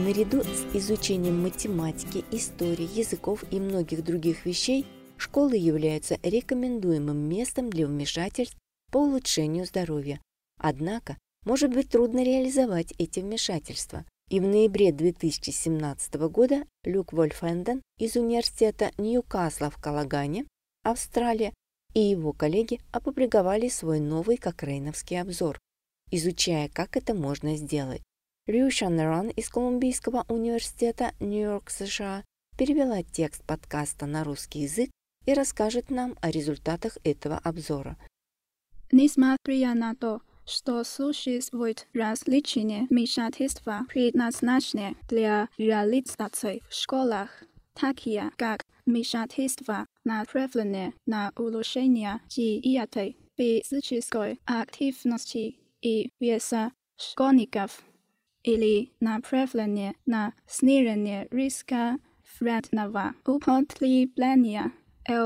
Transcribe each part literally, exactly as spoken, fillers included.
Наряду с изучением математики, истории, языков и многих других вещей, школы являются рекомендуемым местом для вмешательств по улучшению здоровья. Однако, может быть трудно реализовать эти вмешательства. И в ноябре две тысячи семнадцатого года Люк Вольфенден из университета Ньюкасла в Калагане, Австралия, и его коллеги опубликовали свой новый кокрейновский обзор, изучая, как это можно сделать. Рю Шаннерон из Колумбийского университета Нью-Йорк, США, перевела текст подкаста на русский язык и расскажет нам о результатах этого обзора. Несмотря на то, что существуют различные вмешательства, предназначенные для реализации в школах, такие как вмешательства, направленные на улучшение диеты, физической активности и веса школьников, или направленные на снижение риска вредного употребления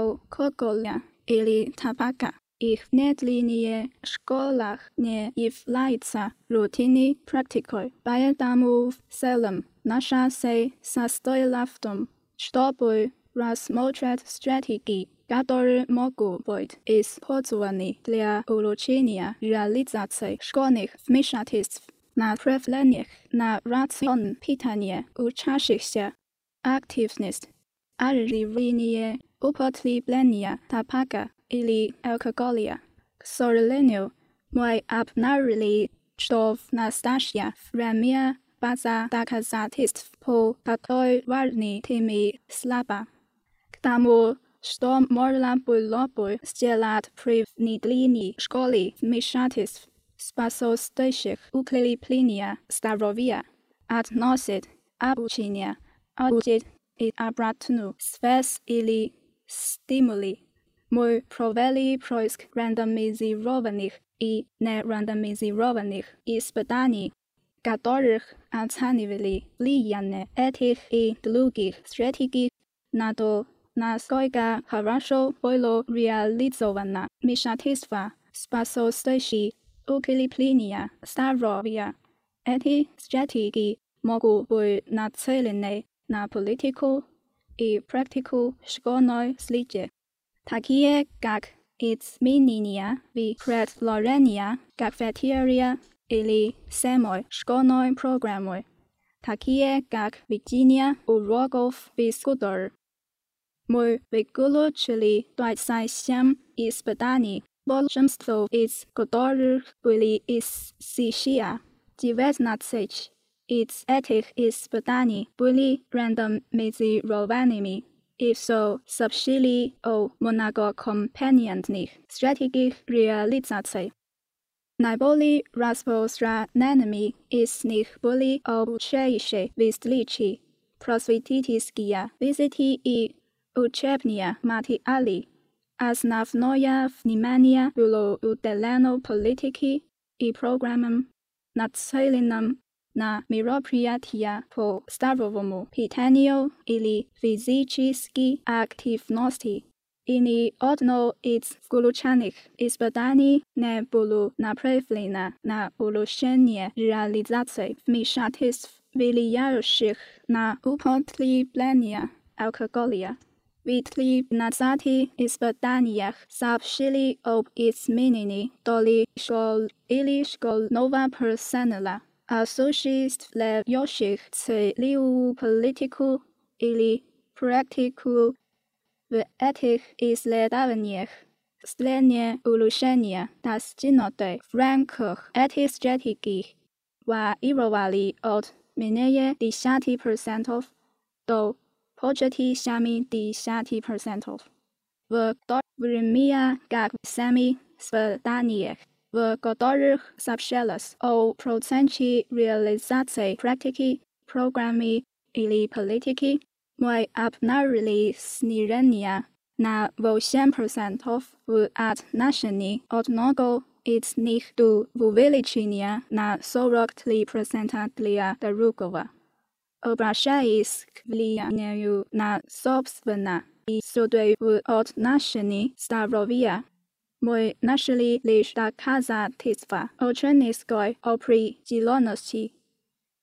алкоголя или табака. Их внедрение в школах не является рутинной практикой, поэтому в целом наша цель состояла в том, чтобы рассмотреть стратегии, которые могут быть использованы для улучшения реализации школьных вмешательств, направленных на рацион питания учащихся, активность, ограничение употребления табака или алкоголя. К сожалению, мы обнаружили, что в настоящее время база доказательств по такой важной теме слаба. К тому, что можно было бы сделать при внедрении в школе вмешательств, способствующих укреплению здоровья, относит обучение, аудит и обратную связь или стимули. Мы провели поиск рандомизированных и нерандомизированных испытаний, которых оценивали влияние этих и других стратегий на то, насколько хорошо было реализовано вмешательство, способствующее укреплению здоровья. Эти стратегии могут быть нацелены на политику и практику школьной среды, такие как изменения в предложении кафетерия или самой школьной программы, такие как ведение уроков физкультуры. Мы выключили двадцать семь испытаний, большинство из которых были из США. девятнадцать из этих испытаний были рандомизированными и все сообщили о многокомпонентных стратегиях реализации. Наиболее распространенными из них были обучающие встречи, просветительские визиты и учебные материалы. Основное внимание было уделено политике и программам, нацеленным на мероприятия по здоровому питанию или физической активности. И ни одно из включенных испытаний не было направлено на улучшение реализации вмешательств, влияющих на употребление алкоголя. В тринадцати испытаниях сообщили об изменении доли школ или школьного персонала, осуществляющих целевую политику или практику. В этих исследованиях степень улучшения, достигнутой в рамках этих стратегий, варьировали от менее десяти процентов до почти семидесяти процентов. В то время как в семи испытаниях, в которых сообщалось о проценте реализации практики, программы или политики, мы обнаружили снижение на восемь процентов в отношении одного из них до увеличения на сорок три процента для другого. Обращаясь к влиянию на собственно и суды в отношении здоровья, мы нашли лишь доказательства ученической определенности.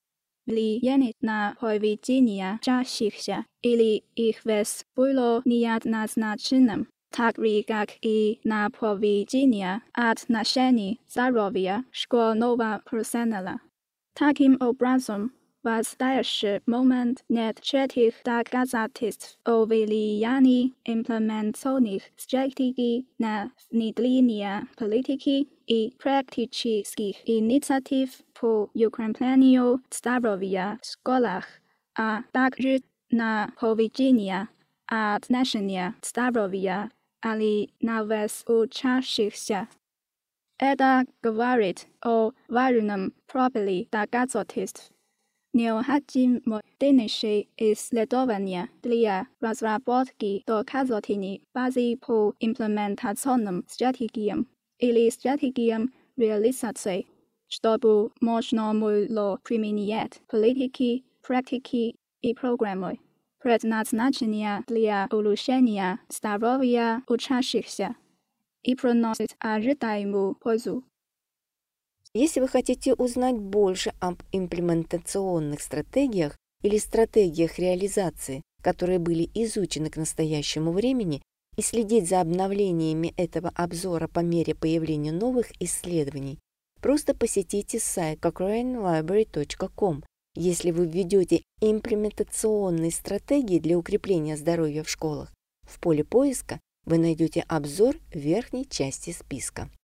влияние на поведение учащихся или их вес было неоднозначным, так же, как и на поведение отношений здоровья школьного персонала. Таким образом, в настоящий момент нет четких доказательств о влиянии имплементационных стратегий на внедрение политики и практических инициатив по укреплению здоровья в школах, а также на поведение отношения здоровья или на вес учащихся. Это говорит о важном пробеле доказательств. Необходимо дальнейшее исследование для разработки доказательной базы по имплементационным стратегиям или стратегиям реализации, чтобы можно было применять политики, практики и программы, предназначенные для улучшения здоровья учащихся и приносить ожидаемую пользу. Если вы хотите узнать больше об имплементационных стратегиях или стратегиях реализации, которые были изучены к настоящему времени, и следить за обновлениями этого обзора по мере появления новых исследований, просто посетите сайт cochrane library точка com. Если вы введете имплементационные стратегии для укрепления здоровья в школах, в поле поиска вы найдете обзор в верхней части списка.